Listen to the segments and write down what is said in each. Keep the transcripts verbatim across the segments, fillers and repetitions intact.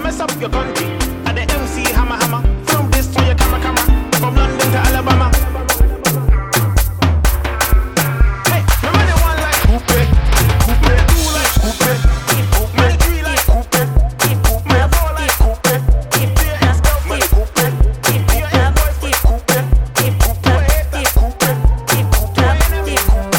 mess up your country. At the M C hammer hammer. Film this for your camera camera. From London to Alabama. Hey, remember the one like coupe, coupe, two like coupe, coupe, three like coupe, coupe, four like coupe, three X girl for the coupe, three X boys for the coupe, coupe, eight like coupe, coupe, enemy coupe.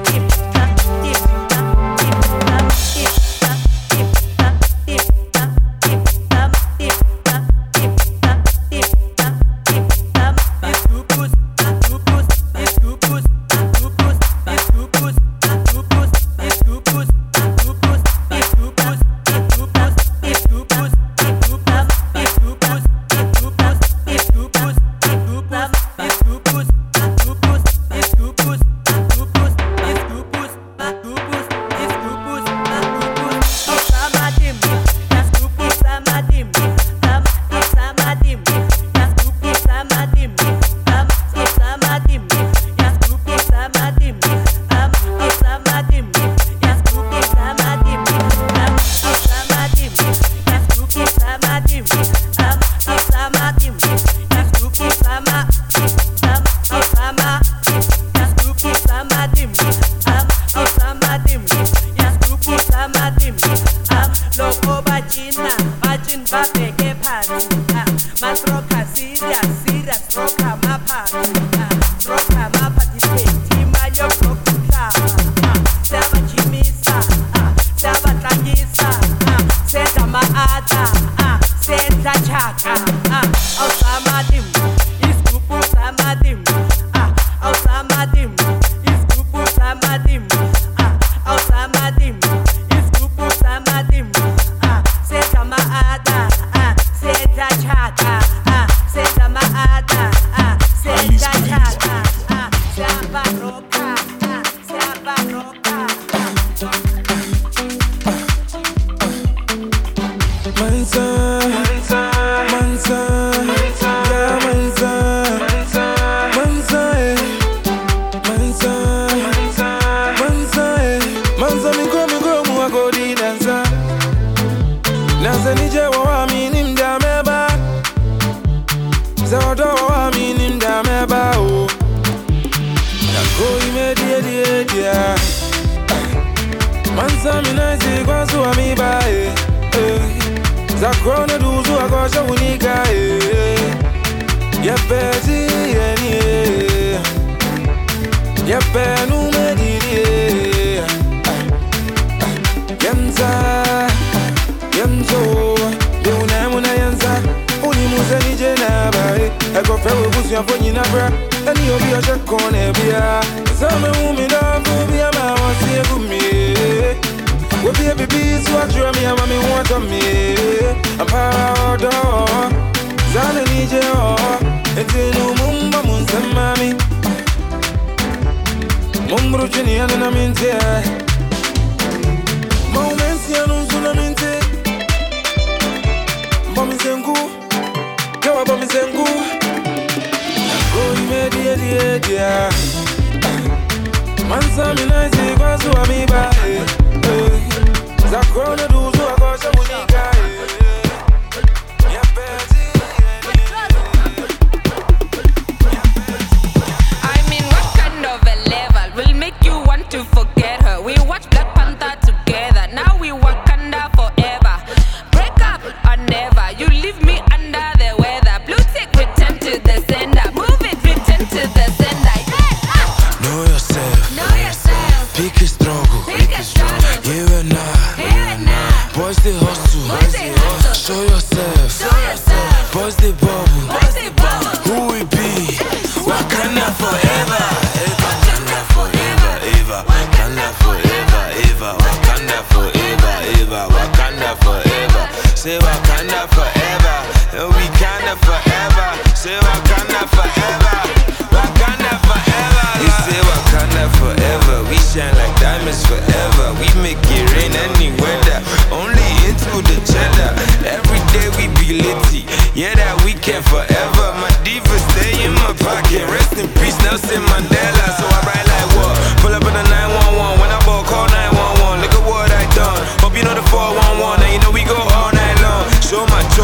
Nelson Mandela, so I ride like what? Pull up in the nine one one, when I ball call nine one one. Look at what I done. Hope you know the four one one, and you know we go all night long. Show my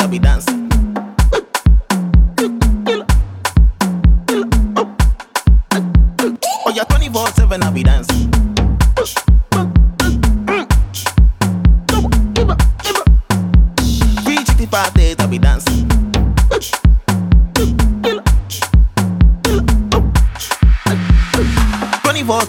be dancing. Oh, yeah, twenty-four seven, I be dancing. three sixty-five days, I be dancing. twenty-four.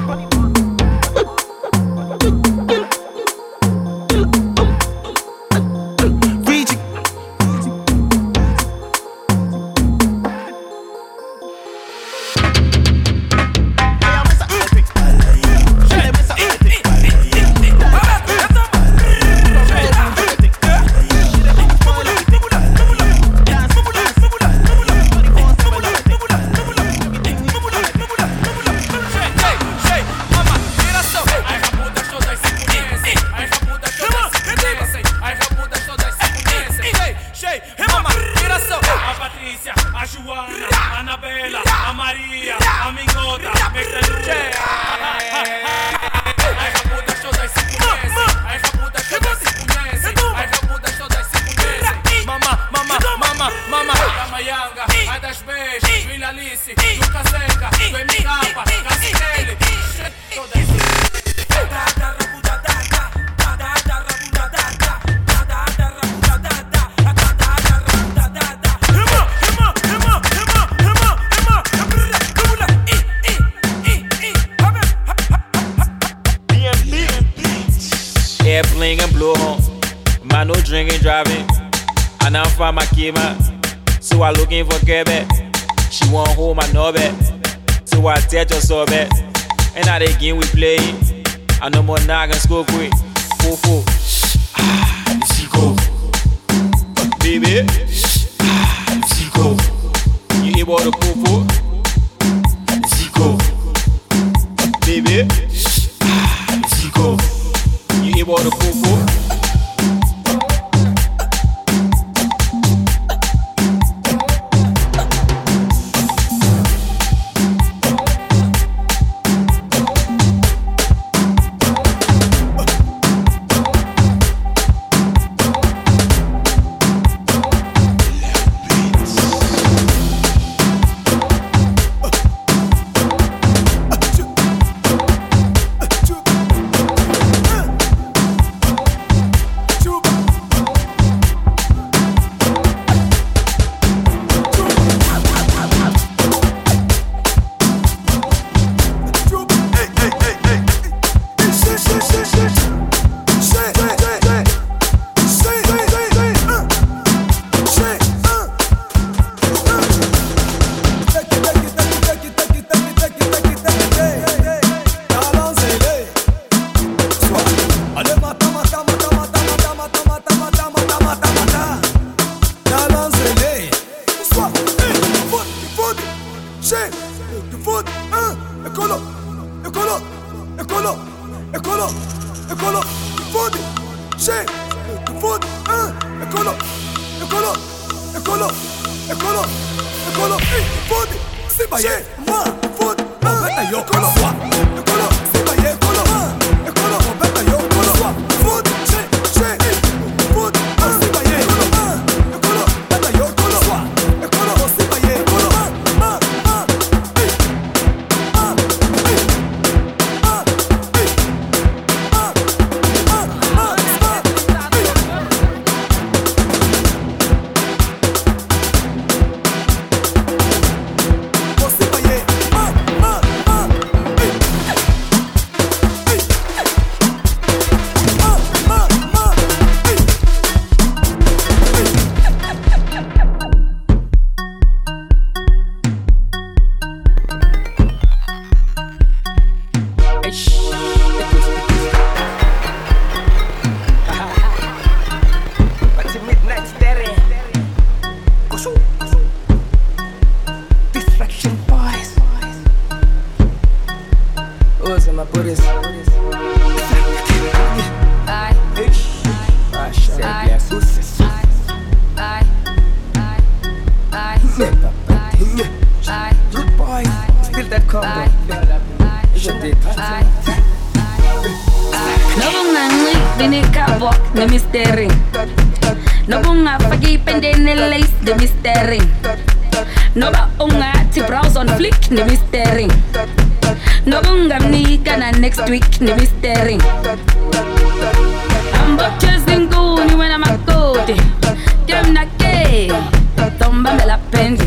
Airplane and blow home. Man, no drinking, driving. And I'm from my kima. So I looking for Quebec. She want hold my knobby. So I tell you so bad. And now the game we play. I no more nagging school quick. Fofo. Ah, Zico. Baby. Ah, Zico. You hear about the fofo? Zico. Baby. Ah, Zico. You hear about the fofo? No No bunga fagi pende ne lace de mistering. No ba unga ti browse on flick ne mistering. No bunga ni kana next week ne mistering. I'm but chasing goony when I'm a code. Dem na ke, tomba me la pendi.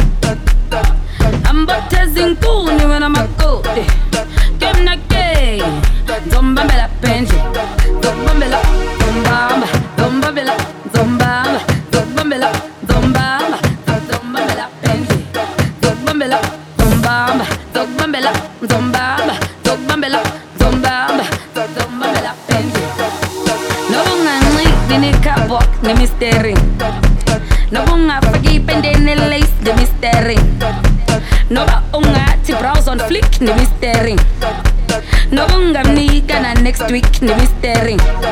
I'm but chasing goony when I'm a code. Dem na ke, tomba me la pendi. Tomba me la, tomba, tomba me la, tomba, tomba me la, tomba, tomba me la pendi. Tomba me la, tomba, tomba me la, tomba, tomba me la, tomba, tomba me la pendi. No bunga ni ni kabok ni misteri. No bunga fagi pende ni lace de misteri. No ba unga ti browse on flick ni misteri. No bunga ni kana next week ni misteri.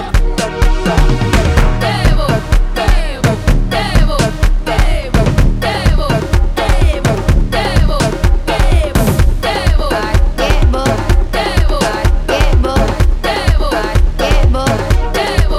Devo, devo, devo, devo, devo, devo, devo, devo, devo, devo, devo, devo, devo, devo,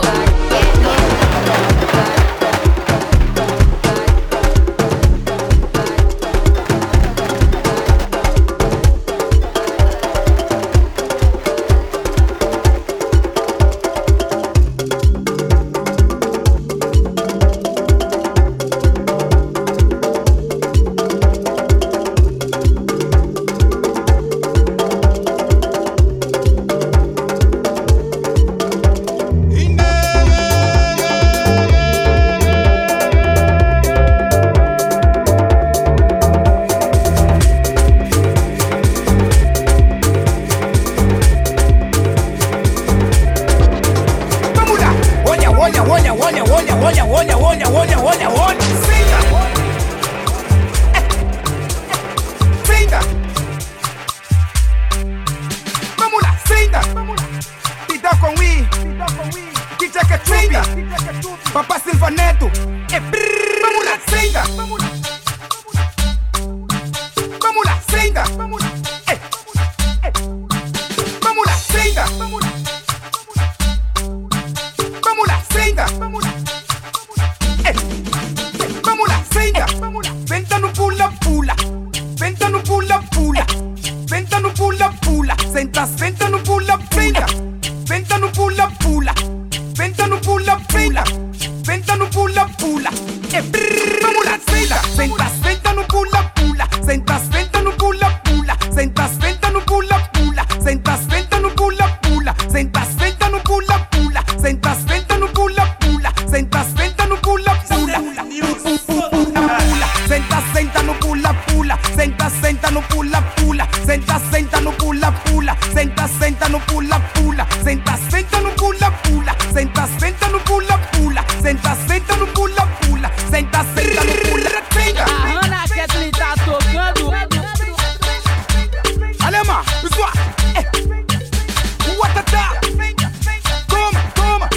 Papá Silva Neto, é brrr, vamos lá, senta. Vamos lá, senta. É, é. Vamos lá, senta. Vamos lá, senta. É, é. Vamos lá, senta. Senta no pula, pula. Senta no pula, pula. Senta no pula, pula. Senta, senta no pula, pula. Senta no pula, pula. Senta no pula, pula. Senta no pula, pula. É brrr, vamos lá, senta. Senta, senta no pula, pula. Senta, senta no pula, pula. Senta, senta no pula, pula. Senta, senta no pula, pula. Senta, senta no pula, pula. Senta, senta no pula, pula. Senta, senta no pula, pula. Senta, senta no pula, pula. Senta, senta no pula, pula. Senta, senta no pula, pula. Senta, senta no pula, pula. Senta, senta no pula, pula. Senta, senta no pula, pula. Senta, senta no pula, pula. Senta, senta no pula, senta. A Hannah Kathleen tá tocando. Alemã, pessoal. Uatatá. Toma, toma.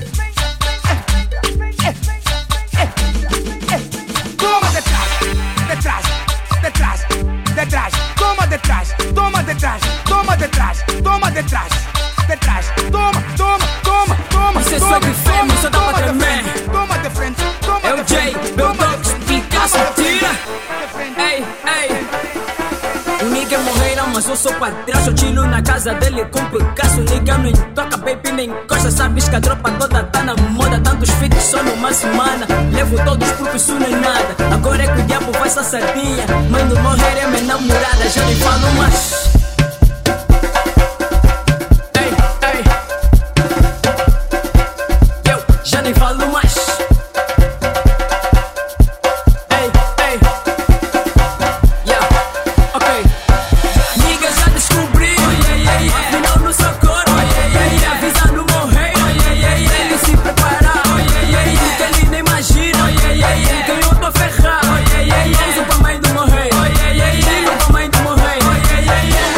Toma detrás, detrás, detrás, detrás. Toma detrás, toma detrás, toma detrás, toma detrás, detrás. Toma, toma, toma, toma. Isso é toma, sobre fêmea, toma, só dá pra toma de tremer. frente, toma de frente, toma É o de J, frente, meu toma de Dogs, frente, Picasso, toma de tira. frente. Ei, ei. O nigga morreram, mas eu sou padrasto. Eu chilo na casa dele com Picasso. Nigga não toca, baby, nem encosta. Sabes que a tropa toda tá na moda. Tantos feats só numa semana. Levo todos porque isso não é nada. Agora é que o diabo faz essa sardinha. Mãe do morrer é minha namorada. Já nem falo mais. Ei, ei. Eu já nem falo mais. Ei, ei. Yeah, ok. Nigga já descobri. Afinal não sou cor. Avisando morrer. Ele se preparar. Que ele nem imagina. Que eu tô ferrado. Vamos pra mãe do morrer. Vamos pra mãe do morrer.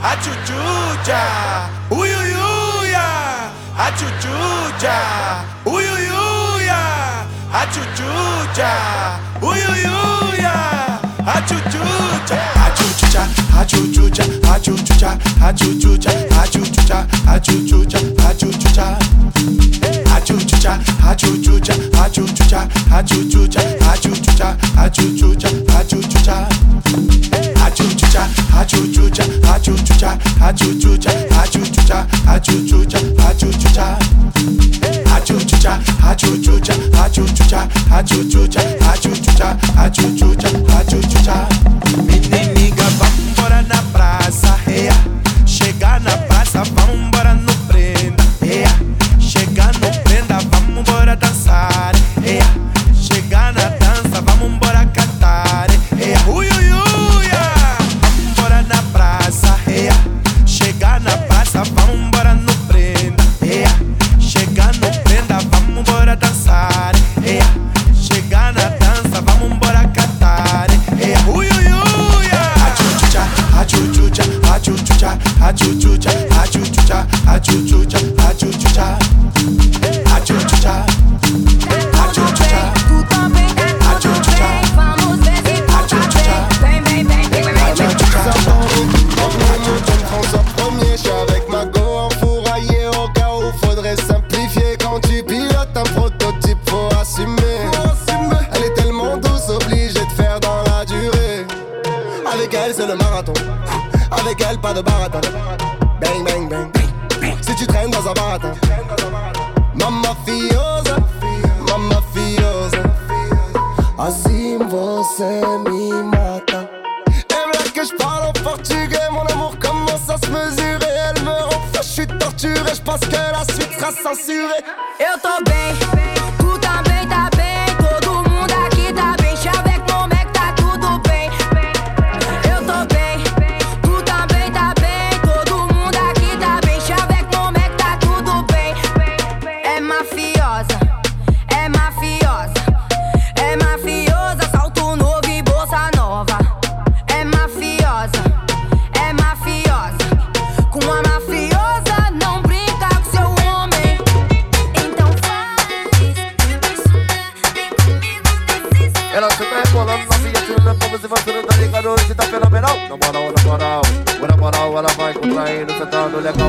a chuchucha, uyuyuya, a chuchucha, uyuyuya, a chuchucha, uyuyuya, a chuchucha, a chuchucha, a chuchucha, a chuchucha, a chuchucha, a chuchucha, a chuchucha, a chuchucha, a chuchucha, a chuchucha, a chuchucha, a chuchucha, a chuchucha, a chuchucha, a chuchucha. Achuchucha, achuchucha, achuchucha, achuchucha, achuchucha, achuchucha, achuchucha. Achuchucha, achuchucha, achuchucha, achuchucha, achuchucha, achuchucha, achuchucha. Meniniga, vambora na praça, ea. Chega na praça, vambora no prenda, ea. Chega no prenda, vambora dançar, ea. Chega na dança, vambora cantar, ea. Ui, ui, ui. Chega na praça, vambora no prenda, yeah. Chega no prenda, vambora dançar, yeah. Chega na dança, vambora cantar, yeah. Ui, ui, ui, yeah. Achuchucha, achuchucha, achuchucha, achuchucha, achuchucha, achuchucha, achuchucha, achuchucha, achuchucha. Tu também, achuchucha, vamos ver se tu também. Vem, vem, vem, vem, vem, Premier, j'suis avec ma go enfouraillée au cas où faudrait simplifier. Quand tu pilotes un prototype, faut assumer. Elle est tellement douce, obligée de faire dans la durée. Avec elle, c'est le marathon. Avec elle, pas de baratin. Bang, bang, bang. Si tu traînes dans un baratin. Mamma fiosa, mamma fiosa. Assim você me mata. Et voilà que j'parle en portugais, mon amour commence à se mesurer. Elle me rend fou, j'suis torturé, j'pense que la suite sera censurée. eu tô bem, tu também tá bem. Todo mundo aqui tá bem, chá avec mon mec, tá tudo bem. Eu tô bem, tu também tá bem. Todo mundo aqui tá bem, chá avec mon mec, tá tudo bem. É mafiosa, é mafiosa, é mafiosa, salto novo e bolsa nova. É mafiosa, é mafiosa. Com a mafiosa não brinca com seu homem. Então faz, vem comigo nesse céu. Ela só tá rebolando na viatura, como se você não tá ligado, hoje tá fenomenal. Na moral, na moral, na moral, ela vai contraindo, sentando legal.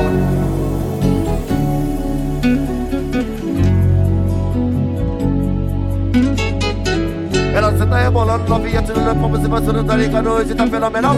Ela só tá rebolando na viatura, como se você não tá ligado, hoje tá fenomenal.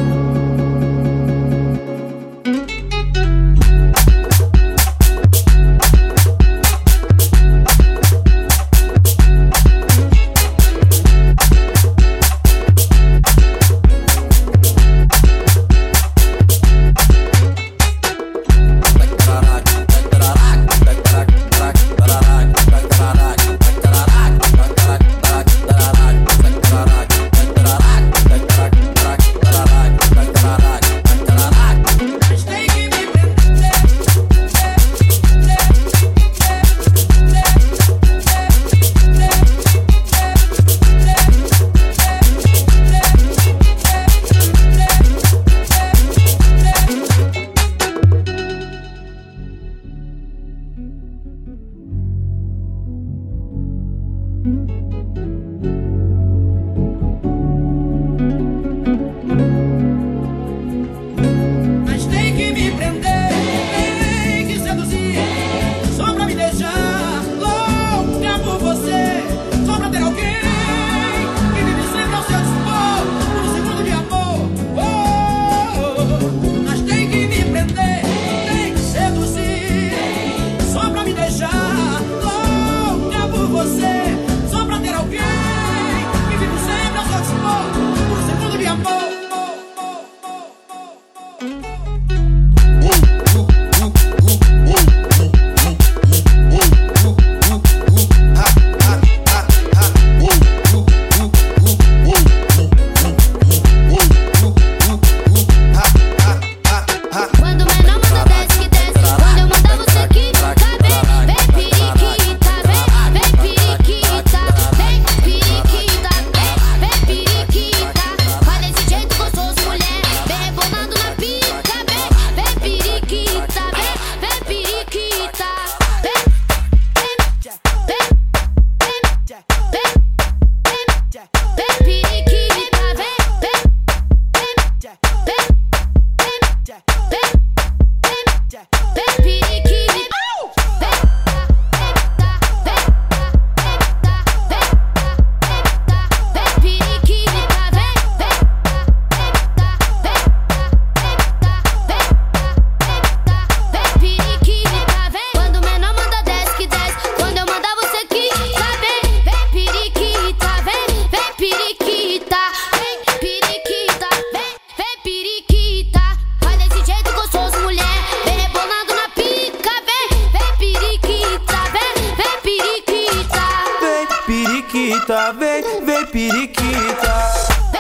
periquita, vem, vem periquita.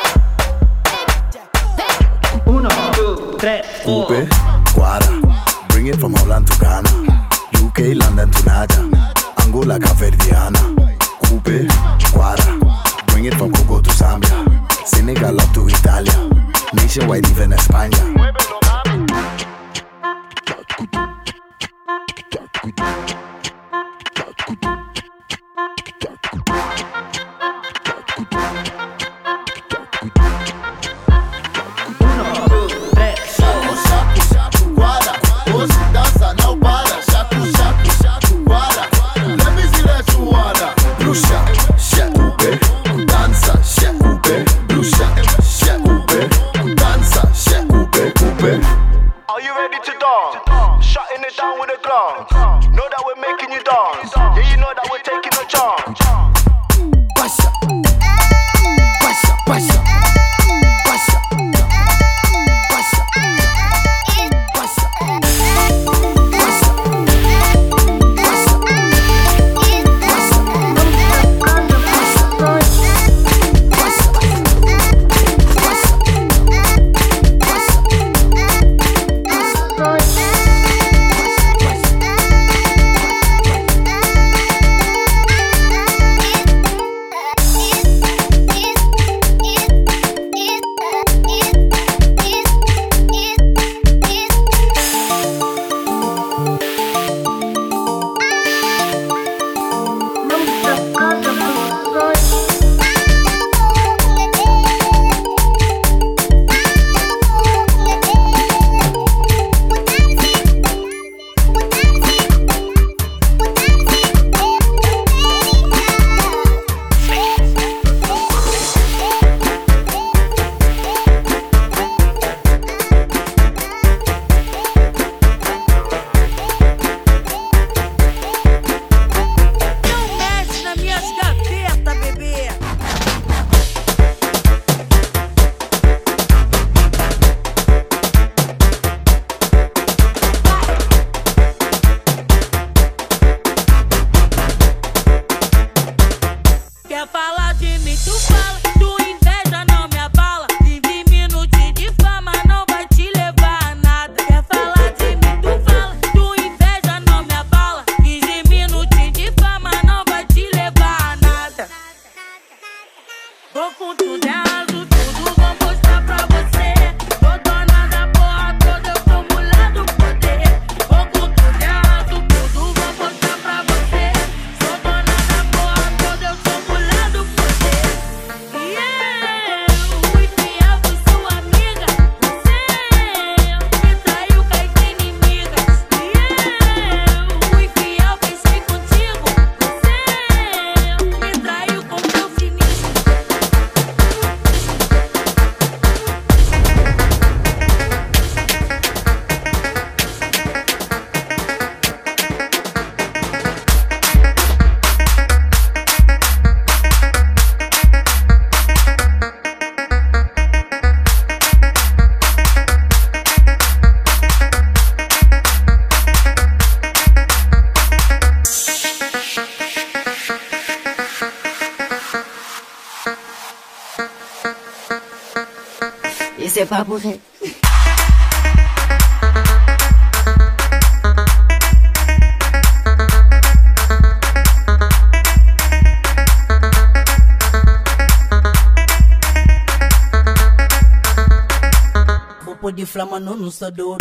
Uno, two, three, four. Coupe, Guara, bring it from Holland to Ghana, U K, London to Naja, Angola, Caverdiana. Coupe, Guara, bring it from Congo to Zambia, Senegal up to Italia, nationwide even España. C'est pas vrai. Popo de flama no no sador.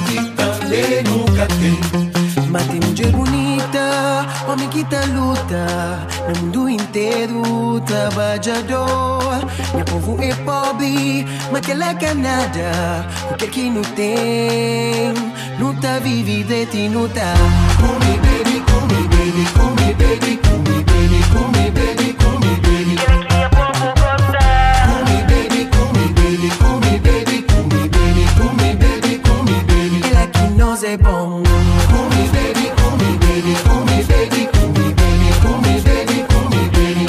que também nunca tem. Mas tem mulher bonita, homem que tá luta, no mundo inteiro trabalhador. Meu povo é pobre, mas que ela quer nada, o que que não tem, não tá vive de ti, não tá. Come baby, come baby, come baby, come baby, come baby, come baby. Come baby, come baby, come baby, come baby, come baby, come baby. Ela que nós é bom. Come baby, come baby, come baby, come baby, come baby, come baby.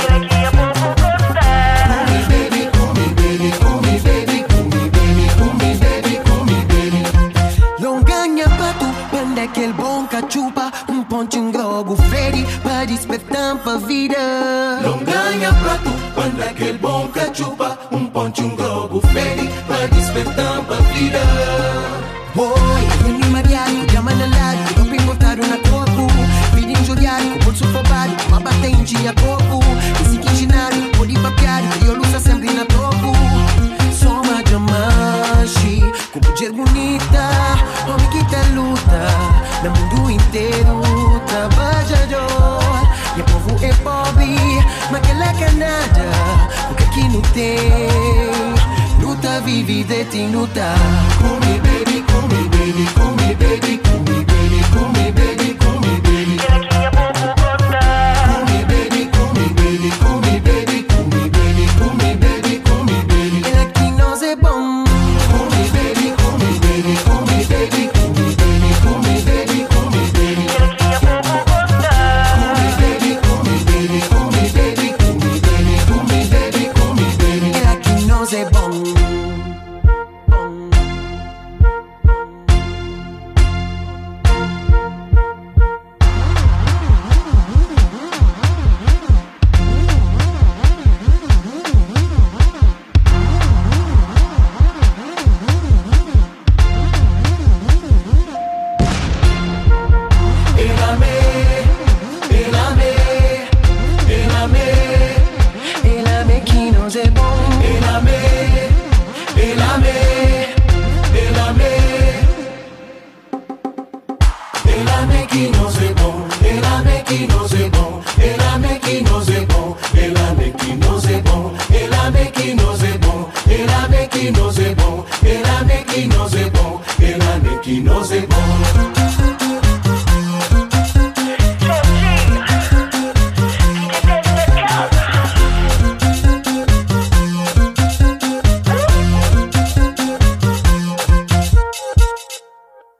Come baby, come baby, come baby, come baby, come baby, come baby. Longanha pato, quando é que ele bom cachupa, um pontinho grogo Freddy, pra despertar pra vida. Longanha prato, quando aquele bom cachupa, um pontinho grogo Freddy, pra despertar pra vida. Oi, ele mariado, chama na lado, eu perguntado na corpo, pedindo jogar, com bolso fobado, uma batente a corpo, esse quinginado, pode papiado, e eu luta sempre na topo. Sou uma diamante, com mulher bonita, homem que tá luta, no mundo inteiro, trabalhador. Meu povo é pobre, mas que ela quer nada, o que que não tem, luta vive de ti, luta. Come baby, come baby, come baby, come baby, come baby, come baby. Come baby, come baby, come baby, come baby, come baby, come baby. Ela que nós é bom. Come baby, come baby, come baby, come baby, come baby, come baby. Come baby, come baby, come baby, come baby, come baby, come baby. Ela que nós é bom. Ela me que no se bon, ela me que no se bon, ela